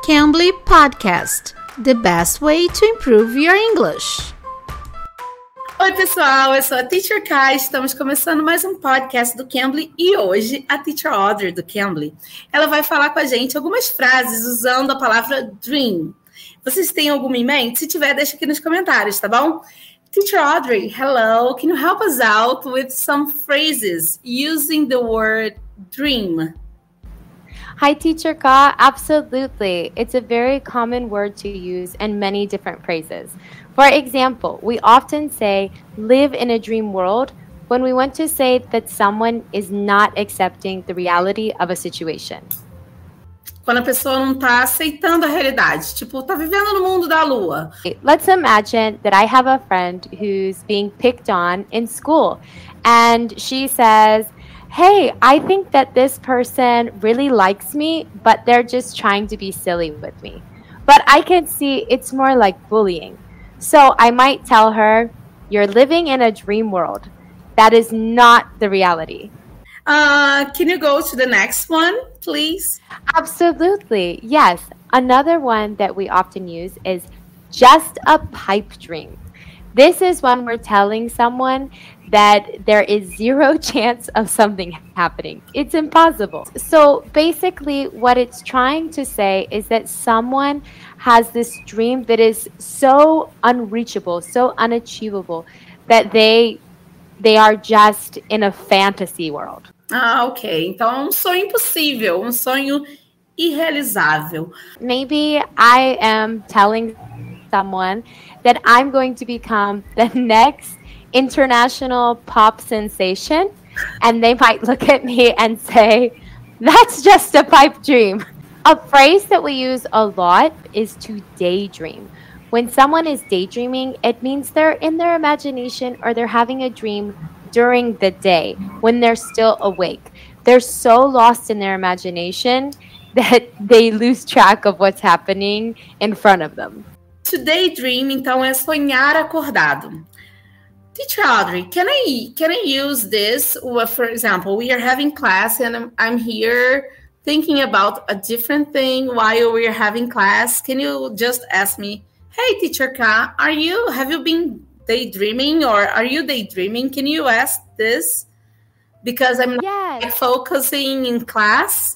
Cambly Podcast, the best way to improve your English. Oi pessoal, eu sou a Teacher Kai, estamos começando mais um podcast do Cambly e hoje a Teacher Audrey do Cambly, ela vai falar com a gente algumas frases usando a palavra dream. Vocês têm alguma em mente? Se tiver, deixa aqui nos comentários, tá bom? Teacher Audrey, hello, can you help us out with some phrases using the word dream? Hi, Teacher Ka. Absolutely. It's a very common word to use in many different phrases. For example, we often say, live in a dream world, when we want to say that someone is not accepting the reality of a situation. Quando a pessoa não tá aceitando a realidade, tipo, tá vivendo no mundo da lua. Let's imagine that I have a friend who's being picked on in school, and she says, hey, I think that this person really likes me, but they're just trying to be silly with me. But I can see it's more like bullying. So I might tell her, you're living in a dream world. That is not the reality. Can you go to the next one, please? Absolutely. Yes. Another one that we often use is just a pipe dream. This is when we're telling someone that there is zero chance of something happening. It's impossible. So basically what it's trying to say is that someone has this dream that is so unreachable, so unachievable, that they are just in a fantasy world. Ok. Então é um sonho impossível, um sonho irrealizável. Maybe I am telling someone that I'm going to become the next international pop sensation, and they might look at me and say, that's just a pipe dream. A phrase that we use a lot is to daydream. When someone is daydreaming, it means they're in their imagination or they're having a dream during the day when they're still awake. They're so lost in their imagination that they lose track of what's happening in front of them. To daydream, então, é sonhar acordado. Teacher Audrey, can I use this? For example, we are having class and I'm here thinking about a different thing while we're having class. Can you just ask me, hey, Teacher Ka, have you been daydreaming or are you daydreaming? Can you ask this? Because I'm not focusing in class.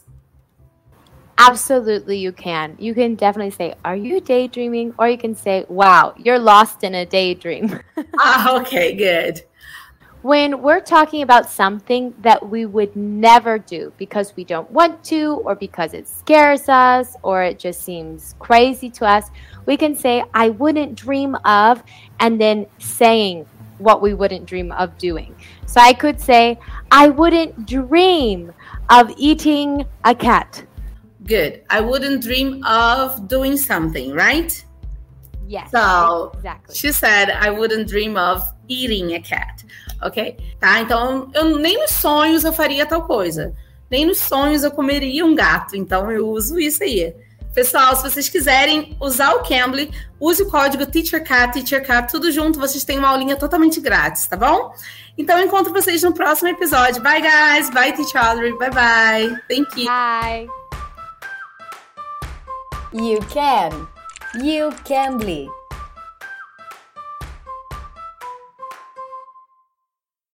Absolutely, you can. You can definitely say, are you daydreaming? Or you can say, wow, you're lost in a daydream. Okay, good. When we're talking about something that we would never do because we don't want to, or because it scares us, or it just seems crazy to us, we can say, I wouldn't dream of, and then saying what we wouldn't dream of doing. So I could say, I wouldn't dream of eating a cat. Good. I wouldn't dream of doing something, right? Yes, so, exactly. She said, I wouldn't dream of eating a cat. Ok? Tá, então, nem nos sonhos eu faria tal coisa. Nem nos sonhos eu comeria um gato. Então, eu uso isso aí. Pessoal, se vocês quiserem usar o Cambly, use o código TEACHERK, tudo junto. Vocês têm uma aulinha totalmente grátis, tá bom? Então, eu encontro vocês no próximo episódio. Bye, guys. Bye, Teacher Audrey. Bye, bye. Thank you. Bye. You can. You Cambly.